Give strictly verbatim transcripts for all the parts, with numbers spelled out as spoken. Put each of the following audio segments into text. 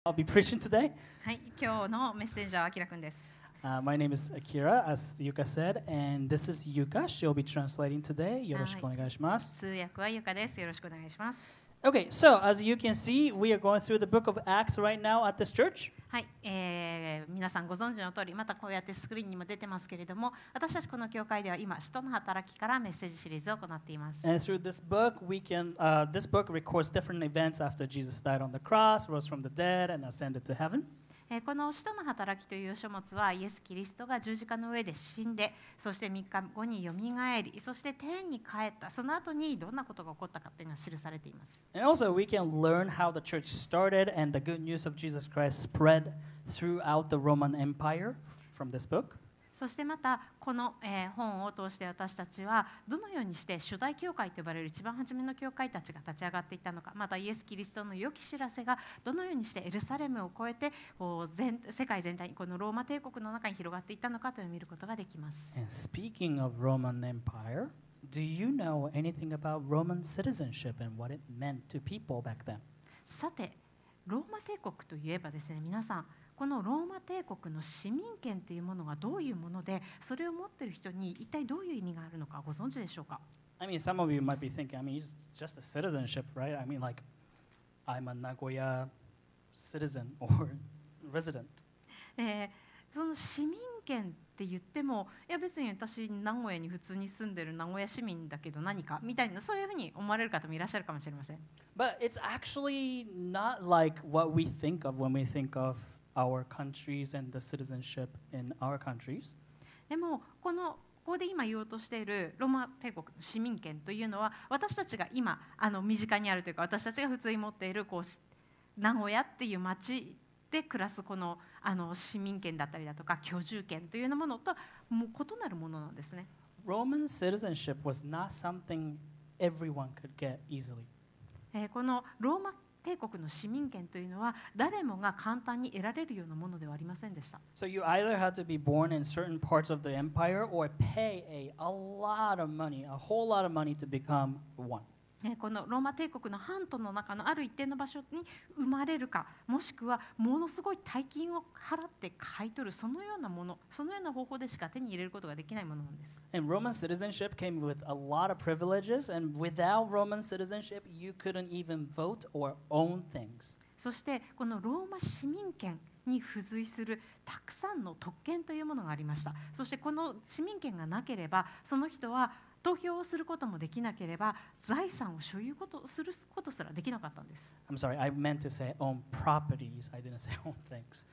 I'll be preaching today. はい、今日のメッセージはあきらくんです。 Uh, my name is Akira, as Yuka said, and this is Yuka. She'll be translating today. よろしくお願いします。 通訳はゆかです。よろしくお願いします。 Okay, so as you can see, we are going through the book of Acts right now at this church. はい、えー、皆さんご存知の通り、またこうやってスクリーンにも出てますけれども、私たちこの教会では今、使徒の働きからメッセージシリーズを行っています。 And through this book, we can, uh, this book records different events after Jesus died on the cross, rose from the dead, and ascended to heaven. この使徒の働きという書物はイエス・キリストが十字架の上で死んで、そしてみっかごによみがえり、そして天に帰った、その後にどんなことが起こったかというのが記されています。 And also, we can learn how the church started and the good news of Jesus Christ spread throughout the Roman Empire from this book. そしてまたこの、えー、本を通して私たちはどのようにして初代教会と呼ばれる一番初めの教会たちが立ち上がっていったのか、またイエス・キリストの良き知らせがどのようにしてエルサレムを越えてこう全世界全体にこのローマ帝国の中に広がっていったのかというのを見ることができます。 And speaking of Roman Empire, do you know anything about Roman citizenship and what it meant to people back then? さて、ローマ帝国といえばですね、皆さんこのローマ帝国の市民権というものがどういうもので、それを持っている人に一体どういう意味があるのかご存知でしょうか。 I mean, some of you might be thinking, I mean, it's just a citizenship, right? I mean, like, I'm a Nagoya citizen or resident. えー、その市民権って言っても、いや別に私名古屋に普通に住んでる名古屋市民だけど何かみたいな、そういうふうに思われる方もいらっしゃるかもしれません。 But it's actually not like what we think of when we think of our countries and the citizenship in our countries. でもこのここで今言おうとしているローマ帝国の市民権というのは、私たちが今あの身近にあるというか、私たちが普通に持っているこう名古屋っていう町で暮らすこのあの市民権だったりだとか居住権というようなものともう異なるものなんですね。 Roman citizenship was not something everyone could get easily. えー、このローマ帝国の市民権というのは誰もが簡単に得られるようなものではありませんでした。 So you either had to be born in certain parts of the empire or pay a, a lot of money, a whole lot of money to become one. このローマ帝国の半島の中のある一定の場所に生まれるか、もしくはものすごい大金を払って買い取る、そのようなもの、そのような方法でしか手に入れることができないものなんです。 And Roman citizenship came with a lot of privileges, and without Roman citizenship, you couldn't even vote or own things. そしてこのローマ市民権に付随するたくさんの特権というものがありました。そしてこの市民権がなければ、その人は投票をすることもできなければ、財産を所有ことすることすらできなかったんです。 I'm sorry, I meant to say own properties. I didn't say own things.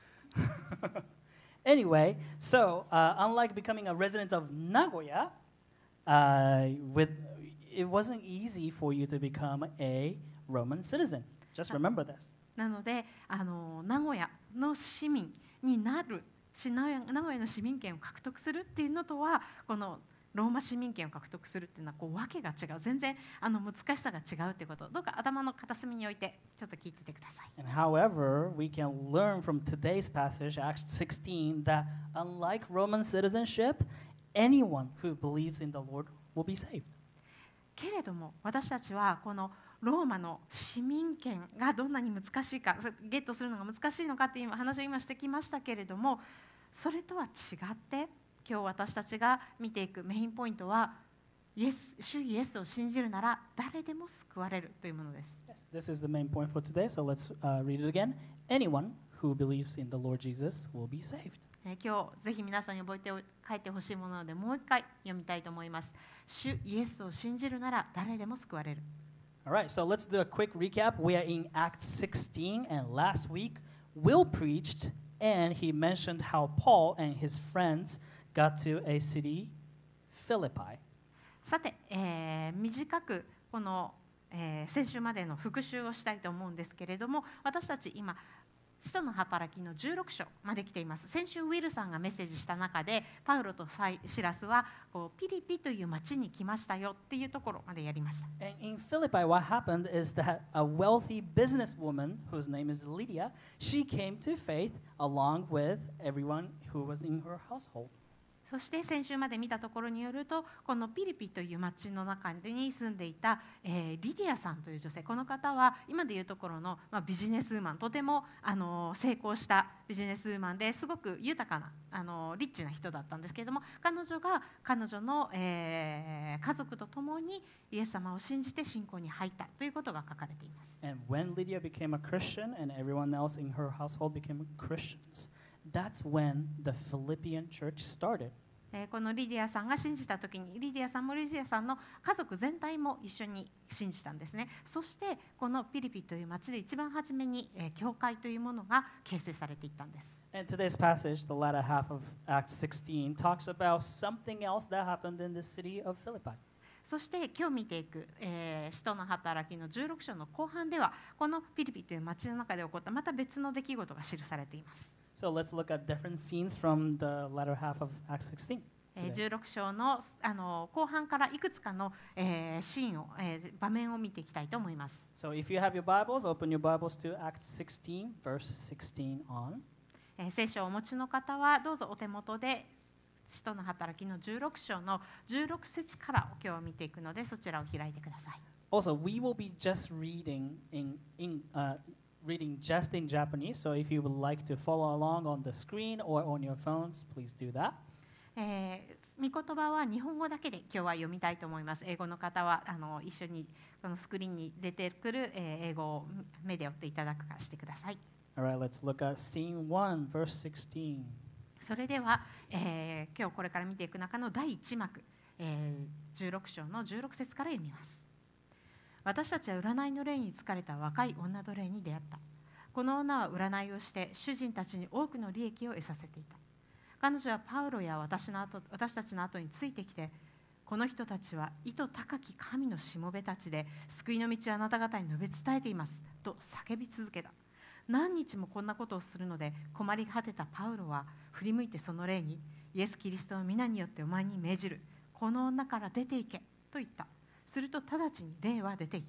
Anyway, so uh, unlike becoming a resident of Nagoya, uh, with, it wasn't easy for you to become a Roman citizen. Just remember this. なので、あの名古屋の市民になる、名古屋の市民権を獲得するっていうのとは、このローマ市民権を獲得するっていうのはこう訳が違う、全然あの難しさが違うってことをどうか頭の片隅に置いてちょっと聞いててください。 And however, we can learn from today's passage, Acts sixteen, that unlike Roman citizenship, anyone who believes in the Lord will be saved. けれども私たちはこのローマの市民権がどんなに難しいか、ゲットするのが難しいのかっていう話を今してきましたけれども、それとは違って今日私たちが見ていくメインポイントは、イエス、主イエスを信じるなら誰でも救われるというものです。 Yes, this is the main point for today, so let's uh, read it again. Anyone who believes in the Lord Jesus will be saved. えー、今日ぜひ皆さんに覚えて帰ってほしいものなので、もう一回読みたいと思います。主イエスを信じるなら誰でも救われる。 All right, so let's do a quick recap. We are in Acts sixteen, and last week Will preached, and he mentioned how Paul and his friends got to a city, Philippi. さて、えー、短くこの、えー、先週までの復習をしたいと思うんですけれども、私たち今使徒の働きのじゅうろく章まで来ています。先週ウィルさんがメッセージした中で、パウロとシラスはこうピリピという町に来ましたよっていうところまでやりました。 And in Philippi, what happened is that a wealthy businesswoman whose name is Lydia, she came to faith along with everyone who was in her household. そして先週まで見たところによると、このピリピという町の中に住んでいた、えー、リディアさんという女性、この方は今でいうところの、まあ、ビジネスウーマン、とてもあの成功したビジネスウーマンですごく豊かなあのリッチな人だったんですけれども、彼女が彼女の、えー、家族と共にイエス様を信じて信仰に入ったということが書かれています。 And when Lydia became a Christian and everyone else in her household became Christians, that's when the Philippian church started. えーこのリディアさんが信じた時に、リディアさんもリディアさんの家族全体も一緒に信じたんですね。そしてこのピリピという町で一番初めに、えー教会というものが形成されていったんです。 And today's passage, the latter half of Acts sixteen, talks about something else that happened in the city of Philippi. そして今日見ていく、えー使徒の働きのじゅうろく章の後半では、このピリピという町の中で起こったまた別の出来事が記されています。 So let's look at different scenes from the latter half of Acts sixteen. えー today. じゅうろく章の、あの後半からいくつかの、えーシーンを、えー場面を見ていきたいと思います。 So if you have your Bibles, open your Bibles to Acts sixteen, verse sixteen on. えー聖書をお持ちの方はどうぞお手元で使徒の働きのじゅうろく章のじゅうろく節から今日は見ていくので、そちらを開いてください。 Also, we will be just reading in, in uh, reading just in Japanese. So if you would like to follow along on the screen or on your phones, please do that. えー御言葉は日本語だけで今日は読みたいと思います。英語の方はあの一緒にこのスクリーンに出てくる、えー英語を目で追っていただくかしてください。 All right, let's look at scene one, verse sixteen. それでは、えー今日これから見ていく中のだいいち幕、えーじゅうろく章のじゅうろく節から読みます。私たちは占いの霊に疲れた若い女奴隷に出会った。この女は占いをして主人たちに多くの利益を得させていた。彼女はパウロや私の後私たちの後についてきて、この人たちは意図高き神のしもべたちで救いの道をあなた方に述べ伝えていますと叫び続けた。何日もこんなことをするので困り果てたパウロは振り向いてその霊に、イエス・キリストの皆によってお前に命じる、この女から出て行けと言った。すると直ちに霊は出ていった。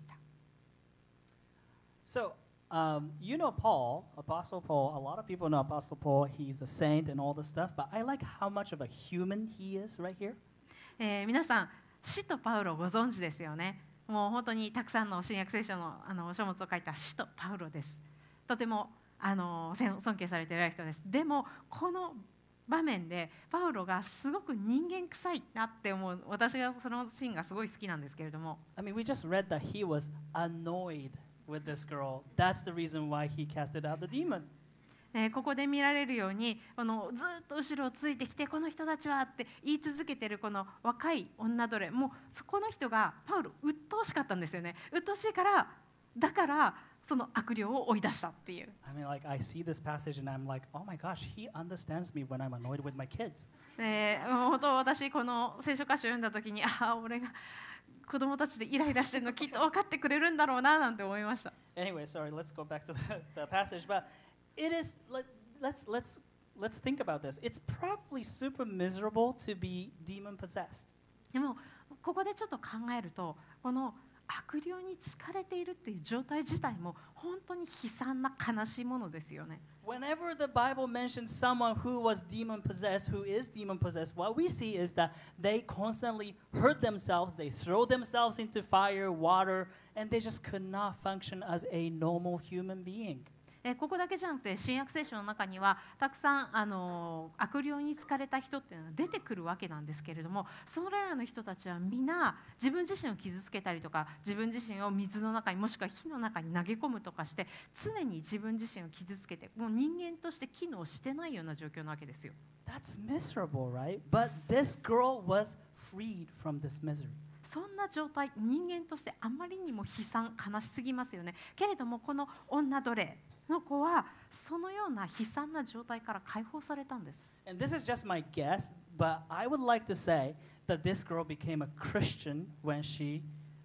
So, um, you know Paul, Apostle Paul. A lot of people know Apostle Paul. He's a saint and all this stuff. But I like how much of a human he is right here. えー皆さん、使徒パウロご存知ですよね。もう本当にたくさんの新約聖書のあの書物を書いた使徒パウロです。とてもあのせん尊敬されている人です。でもこの場面でパウロがすごく人間臭いなって思う、私がそのシーンがすごい好きなんですけれども、 I mean, we just read that he was annoyed with this girl. That's the reason why he casted out the demon. えーここで見られるように、このずっと後ろをついてきて、この人たちはって言い続けてるこの若い女奴隷、もうそこの人がパウロ鬱陶しかったんですよね。鬱陶しいから、だからその悪霊を追い出したっていう。 I mean, like, I see this passage and I'm like, oh my gosh, he understands me when I'm annoyed with my kids. えーもう本当私この聖書箇所を読んだ時に、ああ俺が子供たちでイライラしてるのきっと分かってくれるんだろうななんて思いました。 Anyway, sorry, let's go back to the, the passage. But it is, let, let's, let's, let's think about this. It's probably super miserable to be demon possessed. でもここでちょっと考えると、この悪霊に疲れているっていう状態自体も本当に悲惨な悲しいものですよね。 Whenever the Bible mentions someone who was demon possessed, who is demon possessed, what we see is that they constantly hurt themselves, they throw themselves into fire, water, and they just could not function as a normal human being. えーここだけじゃなくて新約聖書の中にはたくさん、あのー悪霊に疲れた人っていうのは出てくるわけなんですけれども、それらの人たちは皆自分自身を傷つけたりとか、自分自身を水の中にもしくは火の中に投げ込むとかして、常に自分自身を傷つけて、もう人間として機能してないような状況なわけですよ。 That's miserable, right? But this girl was freed from this misery. そんな状態、人間としてあまりにも悲惨悲しすぎますよね。けれどもこの女奴隷の子はそのような悲惨な状態から解放されたんです。 And this is just my guess, but I would like to say that this girl became a Christian when she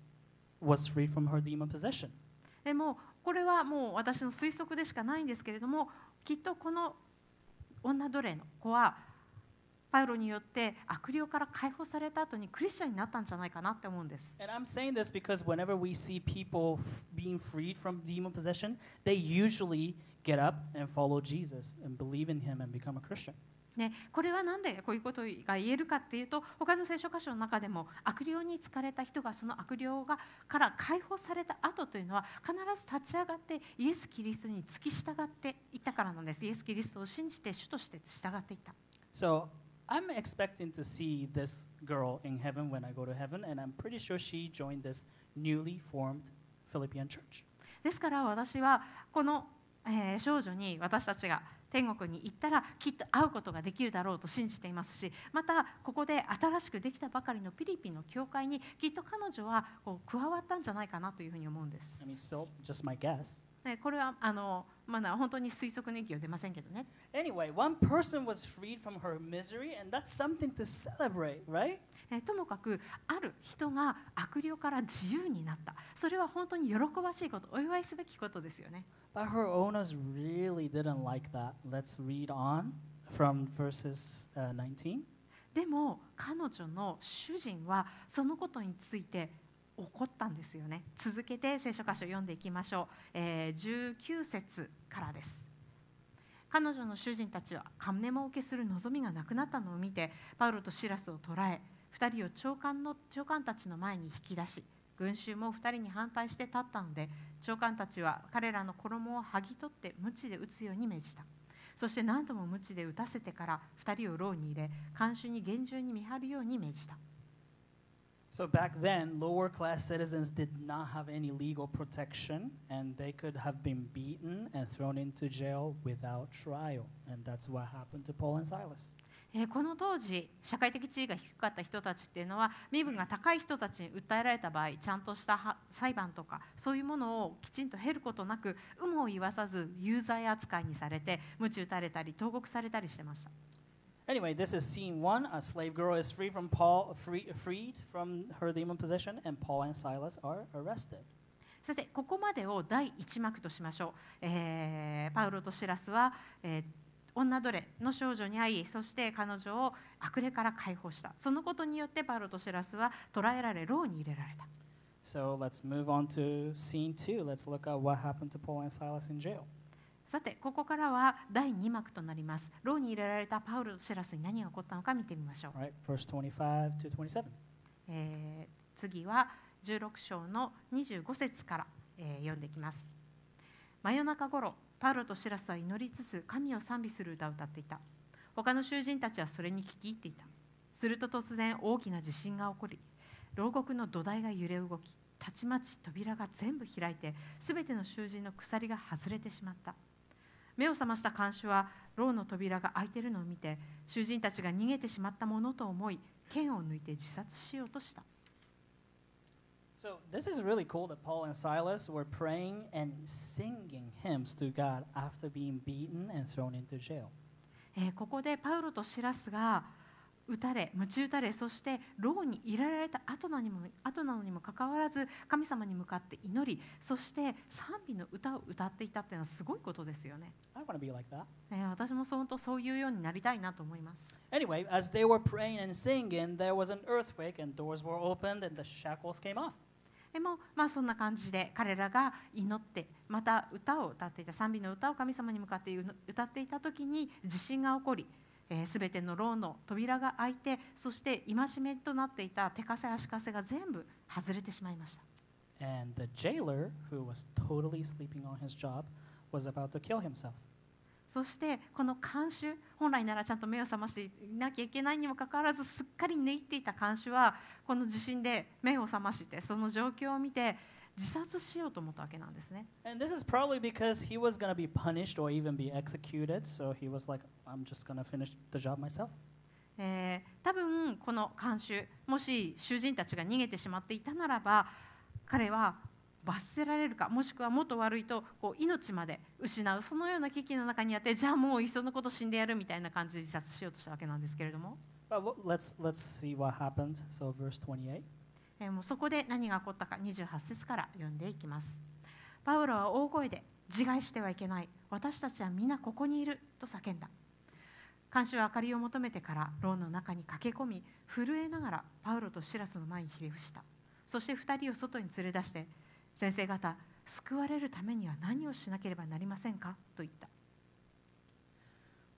was free from her demon possession. でもこれはもう私の推測でしかないんですけれども、きっとこの女奴隷の子はパウロによって悪霊から解放された後にクリスチャンになったんじゃないかなって思うんです。 And I'm saying this because whenever we see people f- being freed from demon possession, they usually get up and follow Jesus and believe in him and become a Christian. ね、これは何でこういうことが言えるかっていうと、他の聖書箇所の中でも悪霊に疲れた人がその悪霊がから解放された後というのは必ず立ち上がってイエス・キリストに付き従っていったからなんです。イエス・キリストを信じて主として従っていった。 So I'm expecting to see this girl in heaven when I go to heaven, and I'm pretty sure she joined this newly formed Philippian church. ですから私はこの、えー少女に私たちが天国に行ったらきっと会うことができるだろうと信じていますし、またここで新しくできたばかりのピリピの教会にきっと彼女はこう加わったんじゃないかなというふうに思うんです。 I mean, still just my guess. ね、これはあの、まだ本当に推測の域は出ませんけどね。 Anyway, one person was freed from her misery, and that's something to celebrate, right? えともかくある人が悪霊から自由になった。それは本当に喜ばしいこと、お祝いすべきことですよね。 But her owners really didn't like that. Let's read on from verses uh, nineteen. でも彼女の主人はそのことについて怒ったんですよね。続けて聖書箇所を読んでいきましょう。えー、じゅうきゅう節からです。彼女の主人たちは金儲けする望みがなくなったのを見て、パウロとシラスを捕らえ、二人を長官の長官たちの前に引き出し、群衆も二人に反対して立ったので、長官たちは彼らの衣を剥ぎ取って鞭で打つように命じた。そして何度も鞭で打たせてから二人を牢に入れ、看守に厳重に見張るように命じた。 So back then, lower class citizens did not have any legal protection, and they could have been beaten and thrown into jail without trial. And that's what happened to Paul and Silas. えーこの当時社会的地位が低かった人たちっていうのは、身分が高い人たちに訴えられた場合、ちゃんとしたは裁判とかそういうものをきちんと経ることなく、有無を言わさず有罪扱いにされて、鞭打たれたり投獄されたりしてました。 Anyway, this is scene one. A slave girl is free from Paul, free, freed from her demon possession, and Paul and Silas are arrested. さてここまでを第一幕としましょう。えーパウロとシラスは、えー女奴隷の少女に会い、そして彼女を悪霊から解放した。そのことによってパウロとシラスは捕らえられ、牢に入れられた。 So let's move on to scene two. Let's look at what happened to Paul and Silas in jail. さてここからは第二幕となります。牢に入れられたパウロとシラスに何が起こったのか見てみましょう。 All right, verse twenty-five to twenty-seven. えー次はじゅうろく章のにじゅうご節から、えー読んでいきます。真夜中ごろ、パウロとシラスは祈りつつ神を賛美する歌を歌っていた。他の囚人たちはそれに聞き入っていた。すると突然大きな地震が起こり、牢獄の土台が揺れ動き、たちまち扉が全部開いて、すべての囚人の鎖が外れてしまった。目を覚ました看守は牢の扉が開いているのを見て、囚人たちが逃げてしまったものと思い、剣を抜いて自殺しようとした。 So this is really cool that Paul and Silas were praying and singing hymns to God after being beaten and thrown into jail. えーここでパウロとシラスが撃たれ、鞭打たれ、そして牢に入れられた後なのにも後なのにもかかわらず、神様に向かって祈り、そして賛美の歌を歌っていたっていうのはすごいことですよね。 I want to be like that. えー私も本当そういうようになりたいなと思います。 Anyway, as they were praying and singing, there was an earthquake and doors were opened and the shackles came off. でも、まあ、そんな感じで彼らが祈って、また歌を歌っていた、賛美の歌を神様に向かって歌っていた時に地震が起こり、すべての牢の扉が開いて、そして戒めとなっていた手かせ足かせが全部外れてしまいました。 And the jailer, who was totally sleeping on his job, was about to kill himself. そしてこの看守、本来ならちゃんと目を覚ましていなきゃいけないにもかかわらず、すっかり寝入っていた看守はこの地震で目を覚まして、その状況を見て自殺しようと思ったわけなんですね。 And this is probably because he was going to be punished or even be executed. So he was like, I'm just going to finish the job myself. えー多分この看守、もし囚人たちが逃げてしまっていたならば、彼は罰せられるか、もしくはもっと悪いとこう命まで失う、そのような危機の中にあって、じゃあもういっそのこと死んでやるみたいな感じで自殺しようとしたわけなんですけれども、 But w- let's let's see what happened. So verse twenty-eight. えーもうそこで何が起こったかにじゅうはち節から読んでいきます。パウロは大声で、自害してはいけない、私たちは皆ここにいると叫んだ。看守は明かりを求めてから牢の中に駆け込み、震えながらパウロとシラスの前にひれ伏した。そして二人を外に連れ出して、先生方、救われるためには何をしなければなりませんかと言った。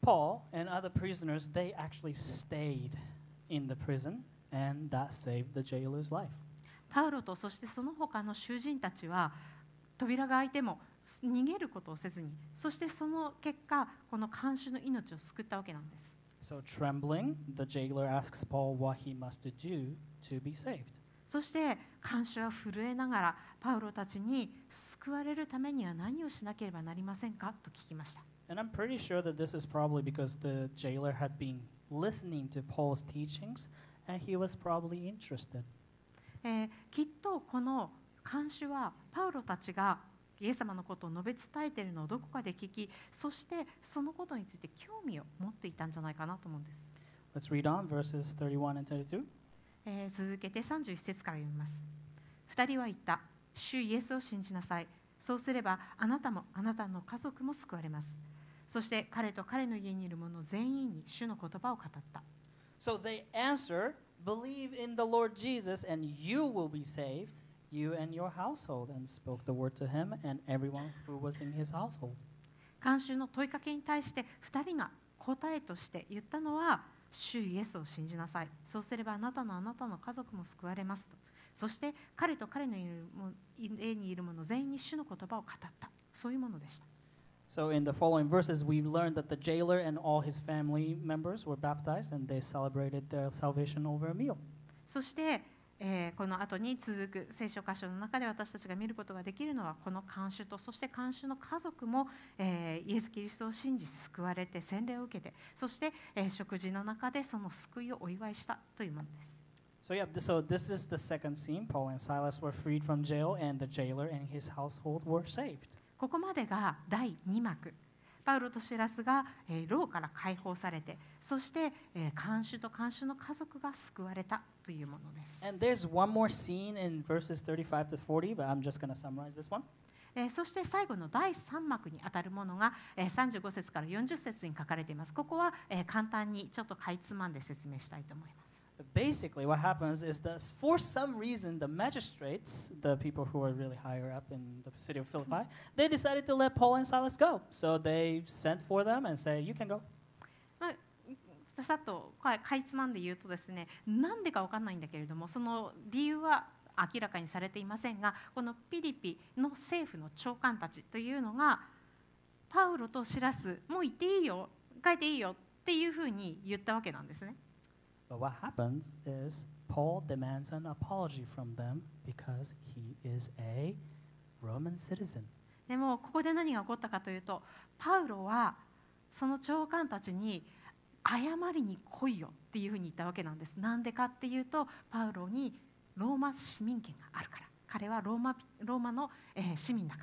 Paul and other prisoners, they actually stayed in the prison, and that saved the jailer's life. パウロとそしてその他の囚人たちは扉が開いても逃げることをせずに、そしてその結果この看守の命を救ったわけなんです。 So trembling, the jailer asks Paul what he must do to be saved. そして看守は震えながらパウロたちに救われるためには何をしなければなりませんかと聞きました。 And I'm pretty sure that this is probably because the jailer had been listening to Paul's teachings and he was probably interested. えー、きっとこの看守はパウロたちがイエス様のことを述べ伝えているのをどこかで聞き、そしてそのことについて興味を持っていたんじゃないかなと思うんです。 Let's read on verses thirty-one and thirty-two. えー、続けてさんじゅういち節から読みます。二人は言った。主イエスを信じなさい。そうすればあなたもあなたの家族も救われます。そして彼と彼の家にいる者全員に主の言葉を語った。 So they answer, believe in the Lord Jesus and you will be saved, you and your household, and spoke the word to him and everyone who was in his household. 看守の問いかけに対して二人が答えとして言ったのは、主イエスを信じなさい。そうすればあなたのあなたの家族も救われますと。そして彼と彼の家にいる者全員に主の言葉を語った。そういうものでした。 So in the following verses, we learned that the jailer and all his family members were baptized and they celebrated their salvation over a meal. そして、えー、この後に続く聖書箇所の中で私たちが見ることができるのは、この看守とそして看守の家族も、えー、イエス・キリストを信じ救われて洗礼を受けて、そして、えー、食事の中でその救いをお祝いしたというものです。 So yeah, so this is the second scene. Paul and Silas were freed from jail and the jailer and his household were saved. ここまでがだいに幕。パウロとシラスが、えー、牢から解放されて、そして、えー、看守と看守の家族が救われたというものです。 And there's one more scene in verses thirty-five to forty, but I'm just going to summarize this one. えー、そして最後のだいさん幕にあたるものが、えー、さんじゅうご節からよんじゅう節に書かれています。ここは、えー、簡単にちょっとかいつまんで説明したいと思います。 Basically, what happens is that for some reason, the magistrates, the people who are really higher up in the city of Philippi, they decided to let Paul and Silas go. So they sent for them and said, "You can go." まあ、さっとかいつまんで言うとですね、なんでかわかんないんだけれども、その理由は明らかにされていませんが、このピリピの政府の長官たちというのが、パウロとシラス、もう行っていいよ、帰っていいよっていうふうに言ったわけなんですね。 But what happens is Paul demands an apology from them because he is a Roman citizen. でもここで何が起こったかというと、パウロはその長官たちに謝りに来いよっていうふうに言ったわけなんです。なんでかっていうと、パウロにローマ市民権があるから。彼はローマ、ローマの、えー、市民だから。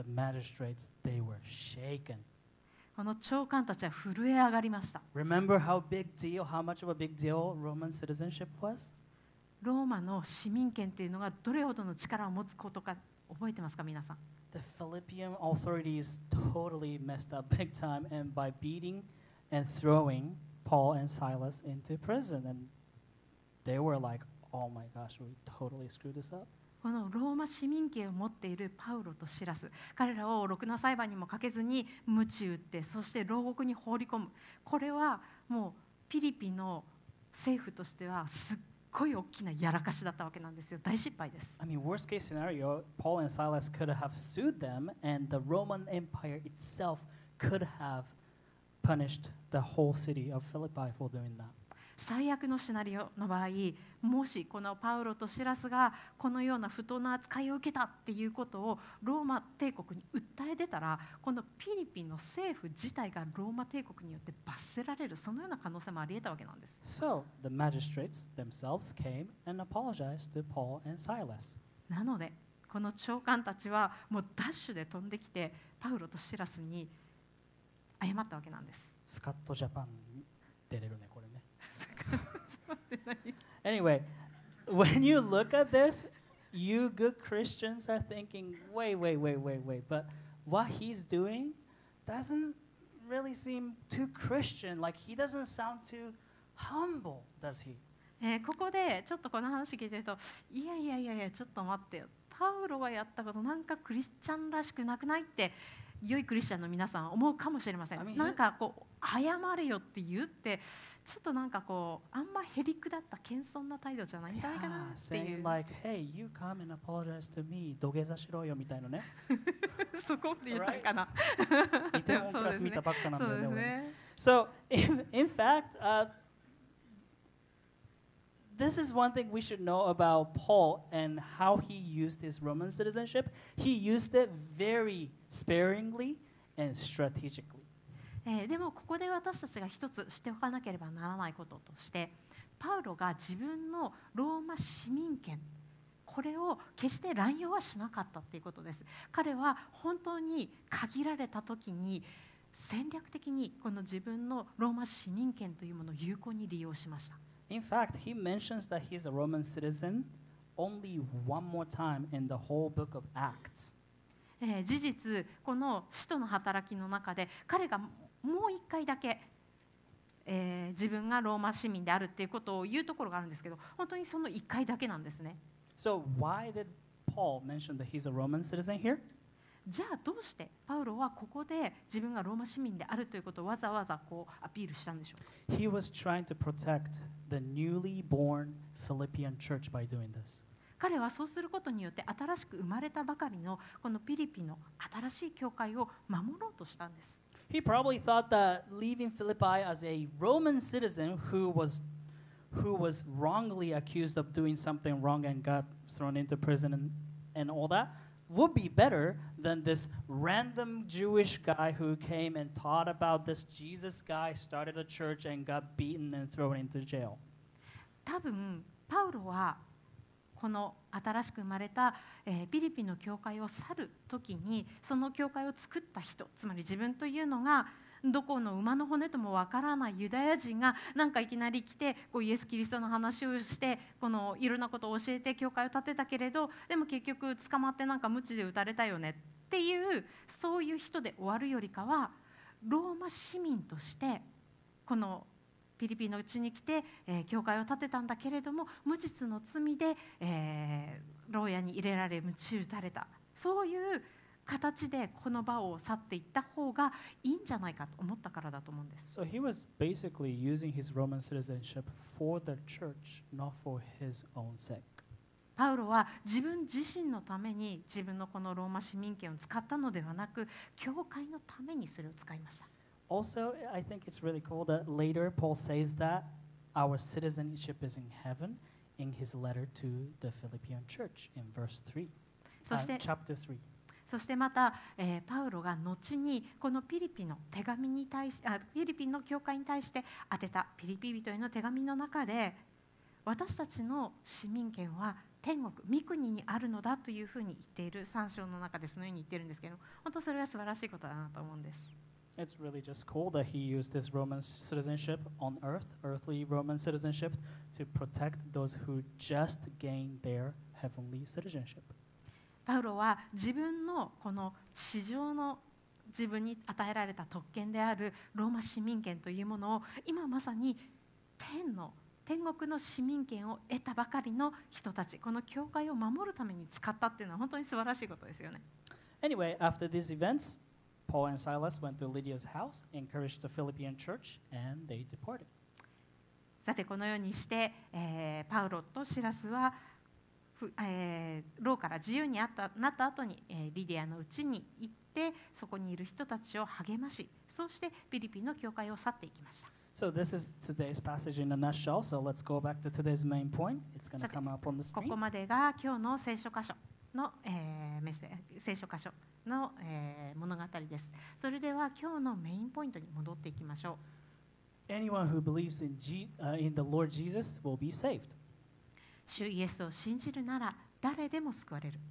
The magistrates, they were shaken. この長官たちは震え上がりました。 Remember how big deal, how much of a big deal Roman citizenship was? ローマの市民権っていうのがどれほどの力を持つことか覚えてますか、皆さん。 The Philippian authorities totally messed up big time and by beating and throwing Paul and Silas into prison. And they were like, oh my gosh, we totally screwed this up. このローマ市民権を持っているパウロとシラス、彼らをろくな裁判にもかけずに鞭打って、そして牢獄に放り込む。これはもうピリピの政府としてはすっごい大きなやらかしだったわけなんですよ。大失敗です。 I mean, worst case scenario, Paul and Silas could have sued them and the Roman Empire itself could have punished the whole city of Philippi for doing that. 最悪のシナリオの場合、もしこのパウロとシラスがこのような不当な扱いを受けたっていうことをローマ帝国に訴え出たら、このピリピンの政府自体がローマ帝国によって罰せられる、そのような可能性もあり得たわけなんです。 So the magistrates themselves came and apologized to Paul and Silas. なのでこの長官たちはもうダッシュで飛んできてパウロとシラスに謝ったわけなんです。 スカットジャパン出れるねこれね。Anyway, when you look at this, you good Christians are thinking, wait, wait, wait, wait, wait. But what he's doing doesn't really seem too Christian. Like he doesn't sound too humble, does he? えー、ここでちょっとこの話聞いてると、いやいやいやいや、ちょっと待ってよ。パウロがやったことなんかクリスチャンらしくなくないって良いクリスチャンの皆さんは思うかもしれません。 I mean, なんかこう謝れよって言ってちょっとなんかこうあんまへりくだった謙遜な態度じゃないんじゃないかな Yeah, ってい saying う like, hey, you come and apologize to me. 土下座しろよみたいなね。 そこで言ったんかな。 イテウォンクラス見たばっかなんだそうよね。俺ねですね。 So, in, in fact, uh, this is one thing we should know about Paul and how he used his Roman citizenship. He used it very sparingly and strategically. えーでもここで私たちが一つしておかなければならないこととしてパウロが自分のローマ市民権これを決して乱用はしなかったということです。彼は本当に限られた時に戦略的にこの自分のローマ市民権というものを有効に利用しました。 In fact, he mentions that he's a Roman citizen only one more time in the whole book of Acts. えー事実この使徒の働きの中で彼がもう一回だけ、えー自分がローマ市民であるっていうことを言うところがあるんですけど本当にその一回だけなんですね。 So why did Paul mention that he's a Roman citizen here? じゃあどうしてパウロはここで自分がローマ市民であるということをわざわざこうアピールしたんでしょうか。 He was trying to protect the newly born Philippian church by doing this. 彼はそうすることによって新しく生まれたばかりのこのピリピの新しい教会を守ろうとしたんです。 He probably thought that leaving Philippi as a Roman citizen who was who was wrongly accused of doing something wrong and got thrown into prison and, and all that would be better than this random Jewish guy who came and taught about this Jesus guy, started a church and got beaten and thrown into jail. 多分パウロはこの新しく生まれた、えーピリピの教会を去る時にその教会を作った人つまり自分というのがどこの馬の骨ともわからないユダヤ人がなんかいきなり来てこうイエス・キリストの話をしてこのいろんなことを教えて教会を建てたけれどでも結局捕まってなんか鞭で打たれたよねっていうそういう人で終わるよりかはローマ市民としてこのピリピのうちに来て、えー教会を建てたんだけれども無実の罪で、えー牢屋に入れられ鞭打たれたそういう形でこの場を去っていった方がいいんじゃないかと思ったからだと思うんです。 So he was basically using his Roman citizenship for the church, not for his own sake. パウロは自分自身のために自分のこのローマ市民権を使ったのではなく教会のためにそれを使いました。 Also, I think it's really cool that later Paul says that our citizenship is in heaven in his letter to the Philippian church in verse three, そ uh, して chapter three. そしてまた、えーパウロが後にこのピリピの手紙に対しあピリピの教会に対して宛てたピリピ人への手紙の中で私たちの市民権は天国御国にあるのだというふうに言っているさん章の中でそのように言ってるんですけど本当それが素晴らしいことだなと思うんです。 It's really just cool that he used his Roman citizenship on earth, earthly Roman citizenship, to protect those who just gained their heavenly citizenship. パウロは自分のこの地上の自分に与えられた特権であるローマ市民権というものを今まさに天の天国の市民権を得たばかりの人たちこの教会を守るために使ったっていうのは本当に素晴らしいことですよね。 Anyway, after these events, Paul and Silas went to Lydia's house, encouraged the Philippian church, and they departed. さてこのようにして、えーパウロとシラスは、ふえー牢から自由にあったなった後に、えーリディアのうちに行ってそこにいる人たちを励ましそうしてピリピの教会を去っていきました。 So this is today's passage in a nutshell. So let's go back to today's main point. It's going to come up on the こ screen. こまでが今日の聖書箇所の、えーメッセ聖書箇所の、えー物語です。それでは今日のメインポイントに戻っていきましょう。 Anyone who believes in, G, uh, in the Lord Jesus will be saved. 主イエスを信じるなら誰でも救われる。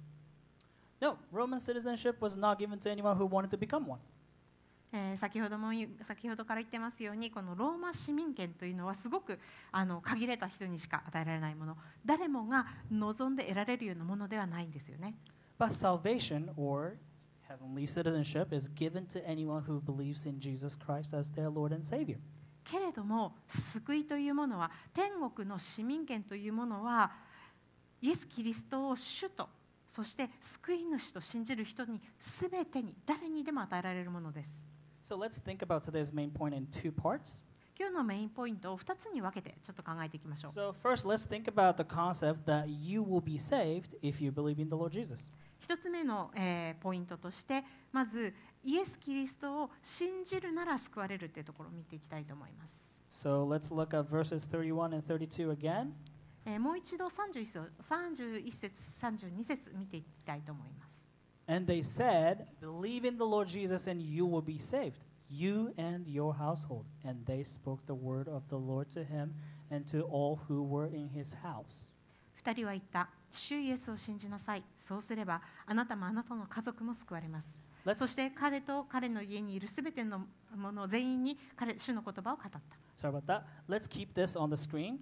No, Roman citizenship was not given to anyone who wanted to become one. えー先ほども言う先ほどから言ってますようにこのローマ市民権というのはすごくあの限られた人にしか与えられないもの誰もが望んで得られるようなものではないんですよね。 But salvation or heavenly citizenship is given to anyone who believes in Jesus Christ as their Lord and Savior. けれども救いというものは天国の市民権というものはイエス・キリストを主とそして救い主と信じる人に全てに誰にでも与えられるものです。 So let's think about today's main point in two parts. 今日のメインポイントをふたつに分けてちょっと考えていきましょう。 So first, let's think about the concept that you will be saved if you believe in the Lord Jesus. 一つ目の、えーポイントとしてまずイエス・キリストを信じるなら救われるというところを見ていきたいと思います。 So let's look at verses thirty-one and thirty-two again. えーもう一度さんじゅういっ節さんじゅういっ節さんじゅうに節見ていきたいと思います。 And they said, Believe in the Lord Jesus and you will be saved, you and your household. And they spoke the word of the Lord to him and to all who were in his house. 二人は言った。主イエスを信じなさい。そうすればあなたもあなたの家族も救われます。 Let's, そして彼と彼の家にいるすべてのもの全員に彼主の言葉を語った。 sorry about that. Let's keep this on the screen.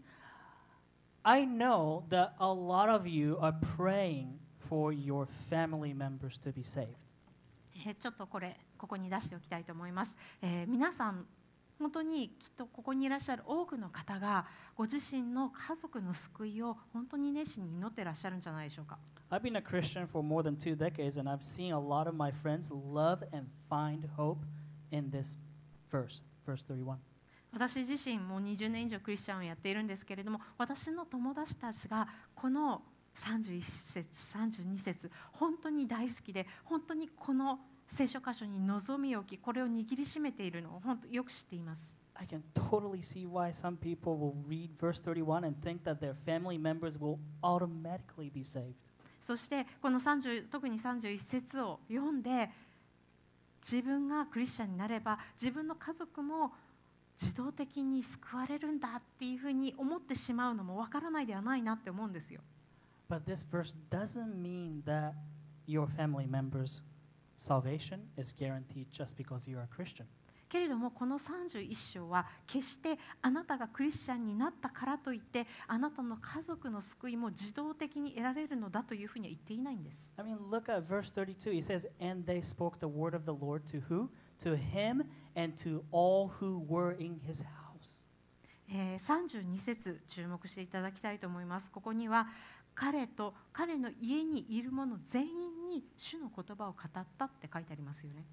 I know that a lot of you are praying for your family members to be saved. えーちょっとこれここに出しておきたいと思います。えー皆さん本当にきっとここにいらっしゃる多くの方がご自身の家族の救いを本当に熱心に祈ってらっしゃるんじゃないでしょうか。 I've been a Christian for more than two decades, and I've seen a lot of my friends love and find hope in this verse, verse thirty-one. 私自身もにじゅうねん以上クリスチャンをやっているんですけれども、私の友達たちがこのさんじゅういっ節さんじゅうに節本当に大好きで、本当にこの聖書箇所に望みを置き、これを握りしめているのを本当よく知っています。 I can totally see why some people will read verse thirty-one and think that their family members will automatically be saved. そしてこのさんじゅう特にさんじゅういっ節を読んで、自分がクリスチャンになれば自分の家族も自動的に救われるんだっていうふうに思ってしまうのもわからないではないなって思うんですよ。 But this verse doesn't mean that your family members' salvation is guaranteed just because you are a Christian. けれどもこのさんじゅういっ章は決してあなたがクリスチャンになったからといってあなたの家族の救いも自動的に得られるのだというふうには言っていないんです。 I mean, look at verse thirty-two. He says, And they spoke the word of the Lord to who? To him and to all who were in his house. えーさんじゅうに節注目していただきたいと思います。ここには彼と彼の家にいる者全員に主の言葉を語ったって書いてありますよね。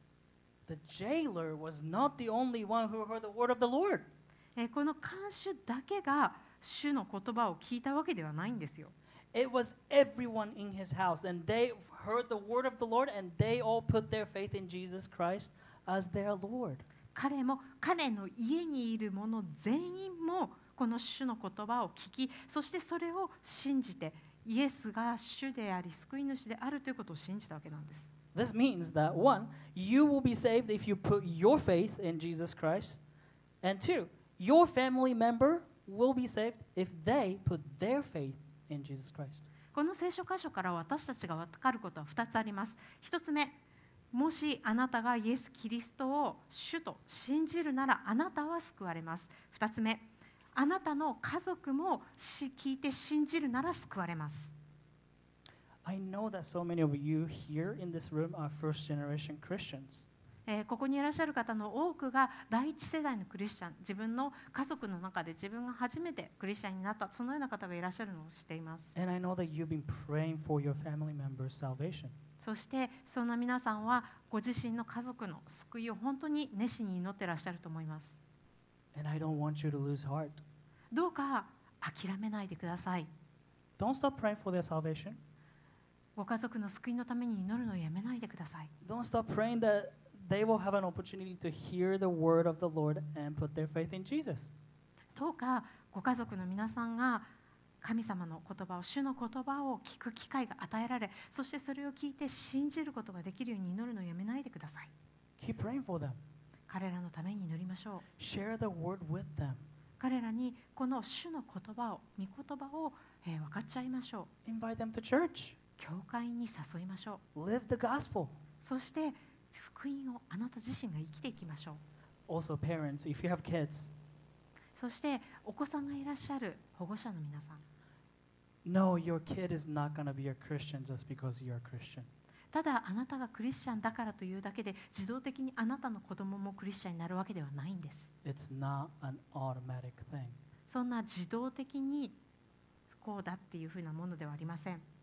The jailer was not the only one who heard the word of the Lord. えーこの看守だけが主の言葉を聞いたわけではないんですよ。 It was everyone in his house, and they heard the word of the Lord, and they all put their faith in Jesus Christ as their Lord. 彼も彼の家にいる者全員もこの主の言葉を聞き、そしてそれを信じてイエスが主であり救い主であるということを信じたわけなんです。 This means that one, you will be saved if you put your faith in Jesus Christ, and two, your family member will be saved if they put their faith in Jesus Christ. この聖書箇所から私たちが分かることはふたつあります。ひとつめ、もしあなたがイエス・キリストを主と信じるならあなたは救われます。ふたつめ、あなたの家族もし聞いて信じるなら救われます。 I know that so many of you here in this room are first generation Christians. えーここにいらっしゃる方の多くが第一世代のクリスチャン、自分の家族の中で自分が初めてクリスチャンになった、そのような方がいらっしゃるのを知っています。 And I know that you've been praying for your family members' salvation. そしてそんな皆さんはご自身の家族の救いを本当に熱心に祈ってらっしゃると思います。 And I don't want you to lose heart. どうか諦めないでください。 Don't stop praying for their salvation. ご家族の救いのために祈るのをやめないでください。 Don't stop praying that they will have an opportunity to hear the word of the Lord and put their faith in Jesus. どうかご家族の皆さんが神様の言葉を、主の言葉を聞く機会が与えられ、そしてそれを聞いて信じることができるように祈るのをやめないでください。 Keep praying for them. 彼らのために祈りましょう。 Share the word with them. 彼らにこの主の言葉を、御言葉を、えー分かっちゃいましょう。 Invite them to church. 教会に誘いましょう。 Live the gospel. そして福音をあなた自身が生きていきましょう。 Also, parents, if you have kids, そしてお子さんがいらっしゃる保護者の皆さん、 no, your kid is not going to be a Christian just because you're a Christian. ただあなたがクリスチャンだからというだけで自動的にあなたの子供もクリスチャンになるわけではないんです。 It's not an automatic thing. そんな自動的にこうだっていうふうなものではありません。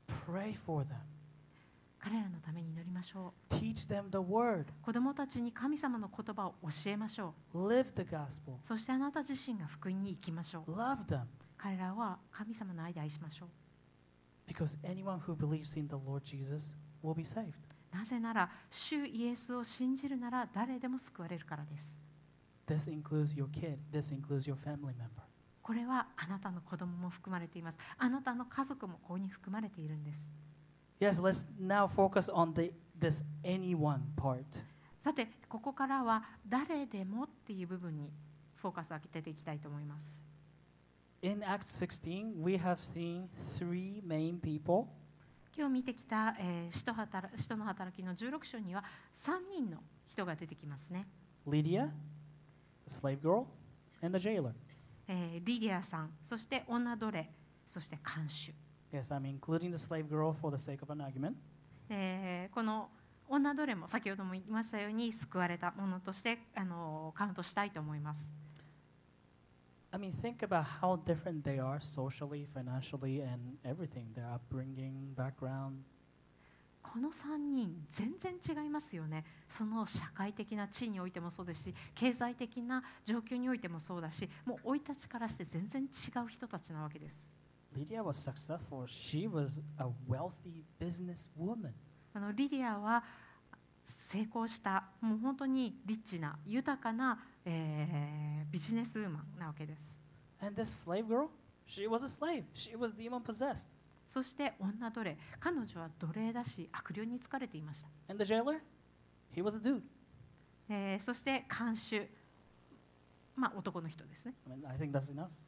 Pray for them. 彼らのために祈りましょ Teach them the word. う。子供たちに神様の言葉を教えましょ Live the gospel. う。そしてあなた自身が福音に生きましょう。 Love them. 彼らは神様の愛で愛しましょう。 Because anyone who believes in the Lord Jesus will be saved. なぜなら、主イエスを信じるなら誰でも救われるからです。 This includes your kid. This includes your family member. これはあなたの子供も含まれています。あなたの家族もここに含まれているんです。 Yes, let's now focus on the, this anyone part. さて、ここからは誰でもっていう部分にフォーカスを当てていきたいと思います。 In Acts sixteen, we have seen three main people. 今日見てきた、えー、使徒働使徒の働きのじゅうろく章にはさんにんの人が出てきますね。 Lydia, the slave girl, and the jailer. えー、リディアさん、そして女奴隷、そして看守。 Yes, I'm including the slave girl for the sake of an argument. えー、この女奴隷も先ほども言いましたように救われたものとしてあのカウントしたいと思います。 I mean, think about how different they are socially, financially, and everything. Their upbringing, background. このさんにん全然違いますよね。その社会的な地位においてもそうですし、経済的な状況においてもそうだし、もう生い立ちからして全然違う人たちなわけです。 Lydia was successful. She was a wealthy businesswoman. あのリディアは成功した、もう本当にリッチな豊かな、えー、ビジネスウーマンなわけです。 And this slave girl, she was a slave. She was demon possessed. そして女奴隷、彼女は奴隷だし悪霊に疲れていました。 And the jailer, he was a dude. えー、そして看守、まあ男の人ですね。 I mean, I think that's enough.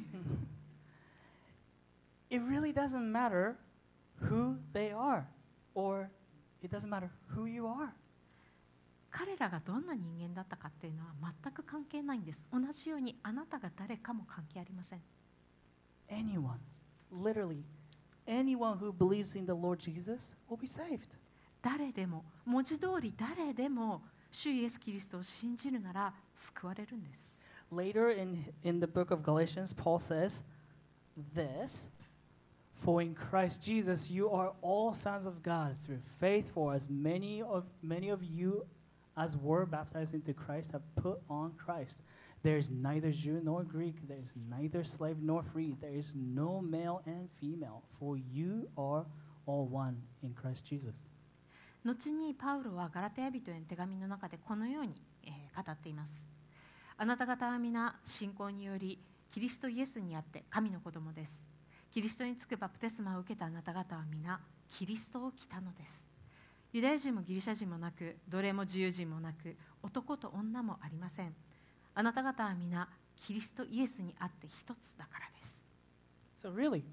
It really doesn't matter who they are, or it doesn't matter who you are. 彼らがどんな人間だったかっていうのは全く関係ないんです。同じようにあなたが誰かも関係ありません。 Anyone, literally, anyone who believes in the Lord Jesus will be saved. 誰でも、文字通り誰でも主イエス・キリストを信じるなら救われるんです。 Later in, in the book of Galatians, Paul says this, For in Christ Jesus you are all sons of God through faith, for as many of, many of you as were baptized into Christ have put on Christ. There is neither Jew nor Greek, there is neither slave nor free, there is no male and female, for you are all one in Christ Jesus. 後にパウロはガラテヤ人への手紙の中でこのように、えー、語っています。あなた方は皆信仰によりキリストイエスにあって神の子供です。キリストにつくバプテスマを受けたあなた方は皆キリストを着たのです。ユダヤ人もギリシャ人もなく、奴隷も自由人もなく、男と女もありません。あなた方は皆キリストイエスにあって一つだからです。 So really,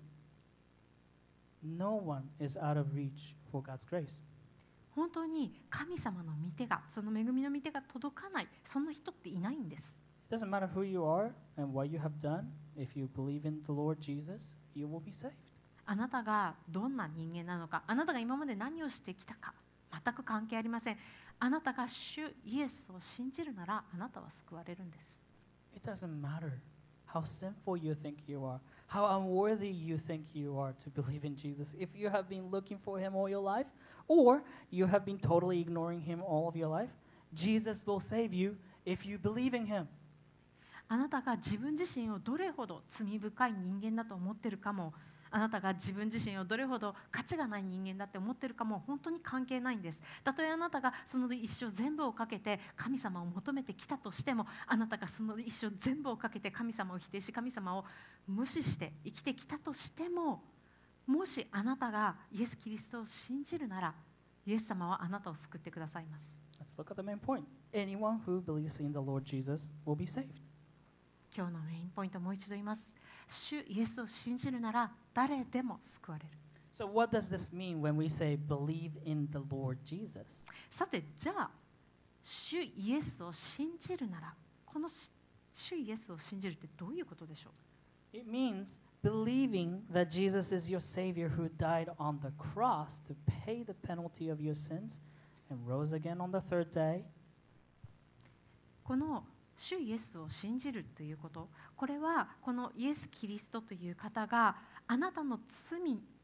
no one is out of reach for God's grace. 本当に神様の御手が、その恵みの御手が届かない、そんな人っていないんです。 It doesn't matter who you are and what you have done. If you believe in the Lord Jesus, you will be saved. あなたがどんな人間なのか、あなたが今まで何をしてきたか、全く関係ありません。あなたが主イエスを信じるなら、あなたは救われるんです。 It doesn't matter how sinful you think you are, how unworthy you think you are to believe in Jesus. If you have been looking for him all your life, or you have been totally ignoring him all of your life, Jesus will save you if you believe in him. あなたが自分自身をどれほど罪深い人間だと思っているかも、あなたが自分自身をどれほど価値がない人間だって思っているかも本当に関係ないんです。たとえあなたがその一生全部をかけて神様を求めてきたとしても、あなたがその一生全部をかけて神様を否定し、神様を無視して生きてきたとしても、もしあなたがイエス・キリストを信じるなら、イエス様はあなたを救ってくださいます。 Let's look at the main point. Anyone who believes in the Lord Jesus will be saved. 今日のメインポイントをもう一度言います。主イエスを信じるなら誰でも救われる。 So what does this mean when we say believe in the Lord Jesus? さて、じゃあ主イエスを信じるなら、この主イエスを信じるってどういうことでしょう？ It means believing that Jesus is your Savior who died on the cross to pay the penalty of your sins and rose again on the third day. この主イエスを信じるということ、これはこのイエス・キリストという方があなたの罪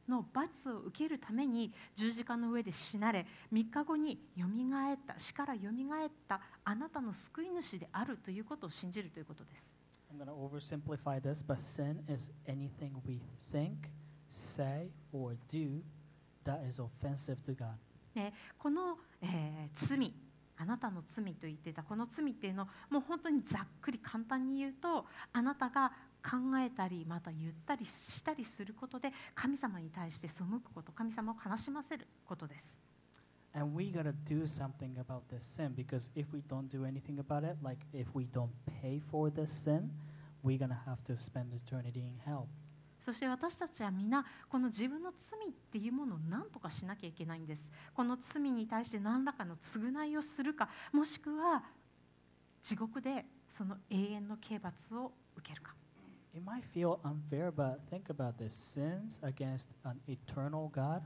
の罰を受けるために十字架の上で死なれ、みっかごによみがえった、死からよみがえったあなたの救い主であるということを信じるということです。 I'm going to oversimplify this, but sin is anything we think, say, or do that is offensive to God. でこの、えー、罪、あなたの罪と言ってたこの罪っていうのをもう本当にざっくり簡単に言うと、あなたが考えたりまた言ったりしたりすることで神様に対して背くこと、神様を悲しませることです。 And we gotta do something about this sin, because if we don't do anything about it, like if we don't pay for this sin, we're gonna have to spend eternity in hell. そして私たちは皆この自分の罪っていうものを何とかしなきゃいけないんです。この罪に対して何らかの償いをするか、もしくは地獄でその永遠の刑罰を受けるか。 It might feel unfair, but think about this. Sins against an eternal God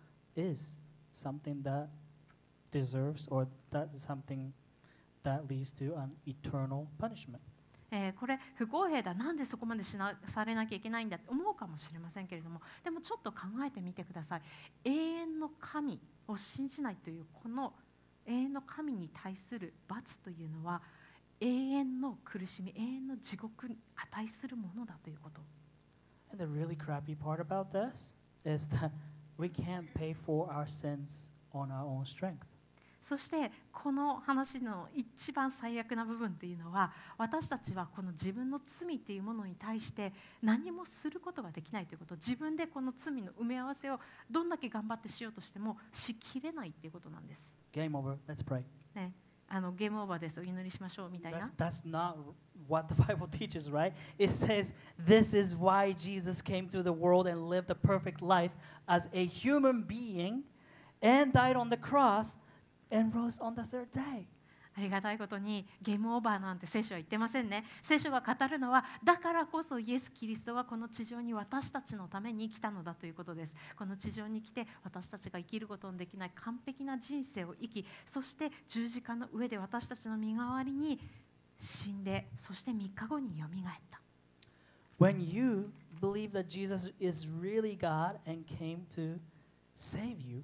is something that deserves, or that is something that leads to an eternal punishment. えー、これ不公平だ、なんでそこまでしなされなきゃいけないんだって思うかもしれませんけれども、でもちょっと考えてみてください。永遠の神を信じないというこの永遠の神に対する罰というのは永遠の苦しみ、永遠の地獄に値するものだということ。 And the really crappy part about this is that we can't pay for our sins on our own strength. そしてこの話の一番最悪な部分っていうのは、私たちはこの自分の罪っていうものに対して何もすることができないということ、自分でこの罪の埋め合わせをどんだけ頑張ってしようとしてもしきれないっていうことなんです。 Game over. Let's pray. ね、あのゲームオーバーです、お祈りしましょうみたいな。 That's, that's not what the Bible teaches, right? It says, this is why Jesus came to the world and lived a perfect life as a human being and died on the cross and rose on the third day. ありがたいことにゲームオーバーなんて聖書は言ってませんね。聖書が語るのは、だからこそイエス・キリストがこの地上に私たちのために来たのだということです。この地上に来て私たちが生きることのできない完璧な人生を生き、そして十字架の上で私たちの身代わりに死んで、そしてみっかごによみがえった。 When you believe that Jesus is really God and came to save you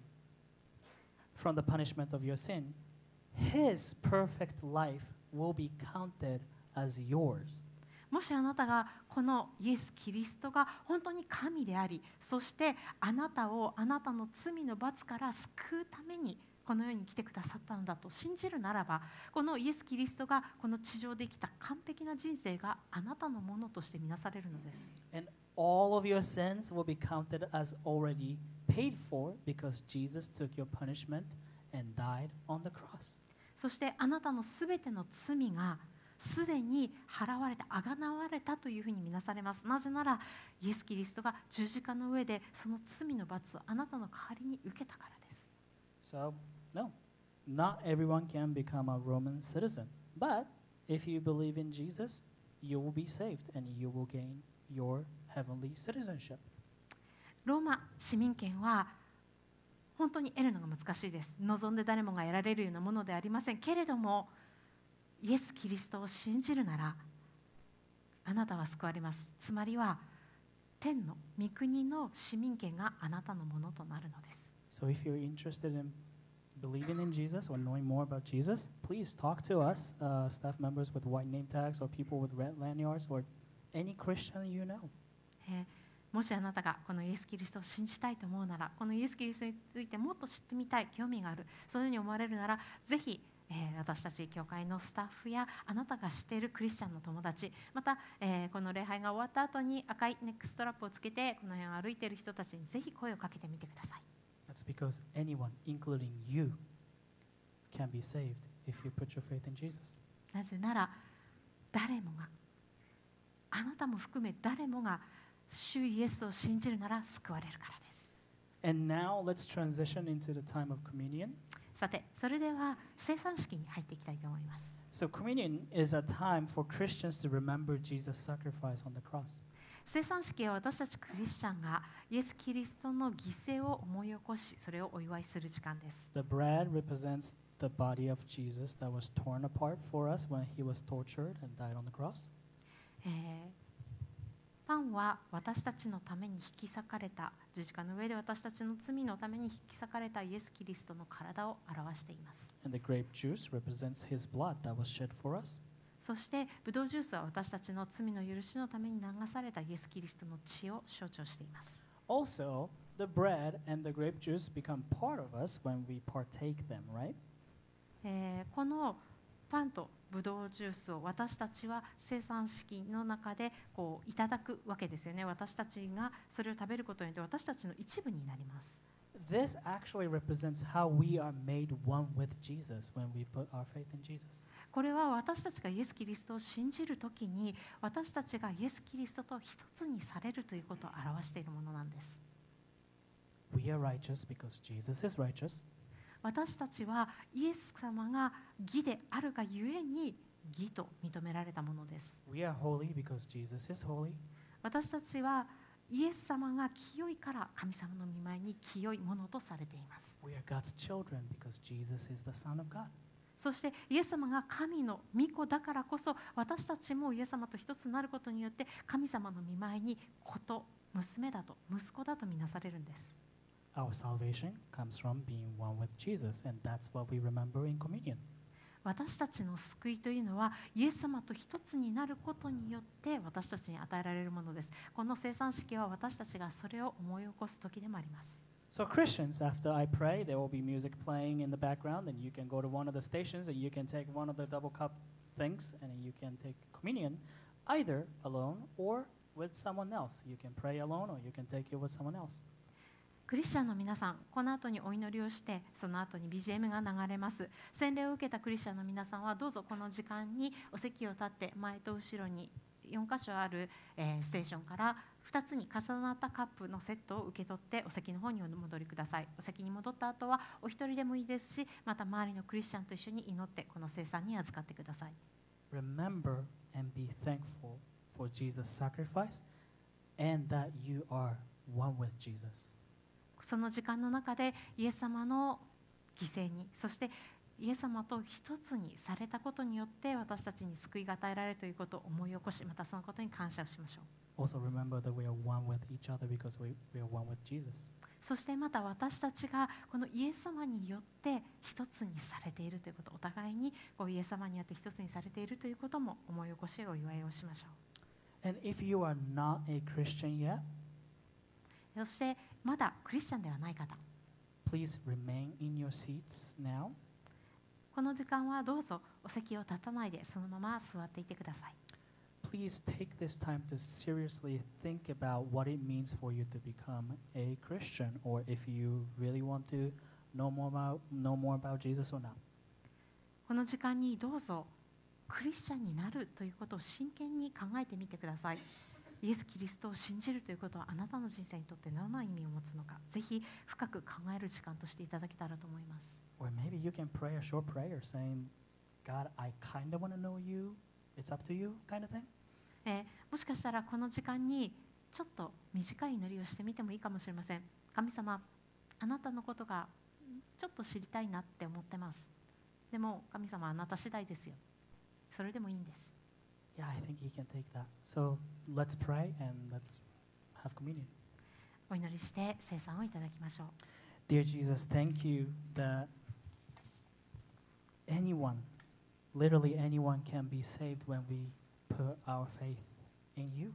from the punishment of your sin, His perfect life will be counted as yours. もしあなたがこのイエス・キリストが本当に神であり、そしてあなたをあなたの罪の罰から救うためにこの世に来てくださったのだと信じるならば、このイエス・キリストがこの地上で生きた完璧な人生があなたのものとして見なされるのです。 And all of your sins will be counted as already paid for because Jesus took your punishment and died on the cross. そしてあなたのすべての罪がすでに払われて、あがなわれたというふうに見なされます。なぜならイエス・キリストが十字架の上でその罪の罰をあなたの代わりに受けたからです。 So, no, not everyone can become a Roman citizen. But if you believe in Jesus, you will be saved and you will gain your heavenly citizenship. ローマ市民権は本当に得るのが難しいです。望んで誰もが得られるようなものではありませんけれども、イエス・キリストを信じるならあなたは救われます。つまりは天の御国の市民権があなたのものとなるのです。 So if you're interested in believing in Jesus or knowing more about Jesus, please talk to us, uh, staff members with white name tags or people with red lanyards or any Christian you know. えーもしあなたがこのイエス・キリストを信じたいと思うなら、このイエス・キリストについてもっと知ってみたい、興味がある、そういうふうに思われるなら、ぜひ、えー、私たち教会のスタッフやあなたが知っているクリスチャンの友達、また、えー、この礼拝が終わった後に赤いネックストラップをつけてこの辺を歩いている人たちにぜひ声をかけてみてください。 That's because anyone, including you, can be saved if you put your faith in Jesus. なぜなら誰もが、あなたも含め誰もが主イエスを信じるなら救われるからです。 And now let's transition into the time of communion. さて、それでは聖餐式に入っていきたいと思います。 So communion is a time for Christians to remember Jesus' sacrifice on the cross. 聖餐式は私たちクリスチャンがイエス・キリストの犠牲を思い起こし、それをお祝いする時間です。 The bread represents the body of Jesus that was torn apart for us when he was tortured and died on the cross. えーパンは私たちのために引き裂かれた、十字架の上で私たちの罪のために引き裂かれたイエス・キリストの体を表しています。 And the grape juice represents his blood that was shed for us. そしてブドウジュースは私たちの罪の許しのために流されたイエス・キリストの血を象徴しています。 Also, the bread and the grape juice become part of us when we partake them, right? えーこのパンとブドウジュースを私たちは生産式の中でこういただくわけですよね。私たちがそれを食べることによって私たちの一部になります。 This actually represents how we are made one with Jesus when we put our faith in Jesus. これは私たちがイエス・キリストを信じるときに私たちがイエス・キリストと一つにされるということを表しているものなんです。 We are righteous because Jesus is righteous. 私たちはイエス様が義であるがゆえに義と認められたものです。 We are holy because Jesus is holy. 私たちはイエス様が清いから神様の御前に清いものとされています。 We are God's children because Jesus is the Son of God. そしてイエス様が神の御子だからこそ私たちもイエス様と一つになることによって神様の御前に子と娘だと息子だとみなされるんです。 Our salvation comes from being one with Jesus, and that's what we remember in communion. 私たちの救いというのはイエス様と一つになることによって私たちに与えられるものです。この生産式は私たちがそれを思い起こす時でもあります。 So Christians, after I pray, there will be music playing in the background, and you can go to one of the stations and you can take one of the double cup things, and you can take communion either alone or with someone else. You can pray alone or you can take it with someone else. クリスチャンの皆さん、この後にお祈りをして、その後に ビージーエム が流れます。洗礼を受けたクリスチャンの皆さんはどうぞこの時間にお席を立って前と後ろによん箇所ある、えーステーションからふたつに重なったカップのセットを受け取ってお席の方にお戻りください。お席に戻った後はお一人でもいいですし、また周りのクリスチャンと一緒に祈ってこの聖餐に預かってください。 Remember and be thankful for Jesus' sacrifice and that you are one with Jesus. その時間の中でイエス様の犠牲に、そしてイエス様と一つにされたことによって私たちに救いが与えられるということを思い起こし、またそのことに感謝をしましょう。 Also remember that we are one with each other because we, we are one with Jesus. そしてまた私たちがこのイエス様によって一つにされているということ、お互いにこうイエス様によって一つにされているということも思い起こしお祝いをしましょう。 And if you are not a Christian yet, そしてまだクリスチャンではない方、 please remain in your seats now. この時間はどうぞお席を立たないでそのまま座っていてください。 Please take this time to seriously think about what it means for you to become a Christian, or if you really want to know more about, know more about Jesus or not. この時間にどうぞクリスチャンになるということを真剣に考えてみてください。イエス・キリストを信じるということはあなたの人生にとってどんな意味を持つのか、ぜひ深く考える時間としていただけたらと思います。 Or maybe you can pray a short prayer saying, God, I kind of want to know you. It's up to you, kind of thing. えーもしかしたらこの時間にちょっと短い祈りをしてみてもいいかもしれません。神様、あなたのことがちょっと知りたいなって思ってます。でも神様、あなた次第ですよ。それでもいいんです。 Yeah, I think he can take that. So let's pray and let's have communion. お祈りして聖餐をいただきましょう。 Dear Jesus, thank you that anyone, literally anyone, can be saved when we put our faith in you.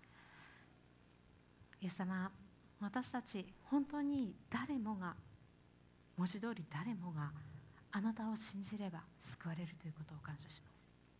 イエス様、私たち本当に誰もが、文字通り誰もがあなたを信じれば救われるということを感謝します。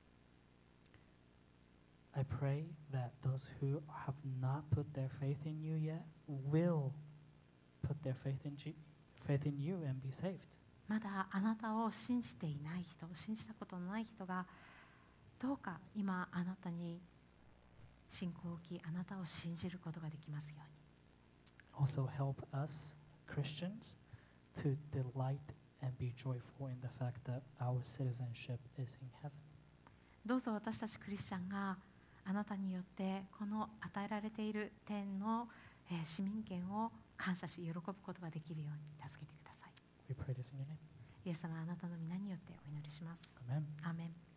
I pray that those who have not put their faith in you yet will put their faith in, G- faith in you and be saved. まだあなたを信じていない人、信じたことのない人がどうか今あなたに信仰を置き、あなたを信じることができますように。 Also help us, Christians, to delight and be joyful in the fact that our citizenship is in heaven. どうぞ私たちクリスチャンがあなたによってこの与えられている天の、えー市民権を感謝し喜ぶことができるように助けてください。 We pray this in your name. イエス様、あなたの皆によってお祈りします。 Amen. アーメン。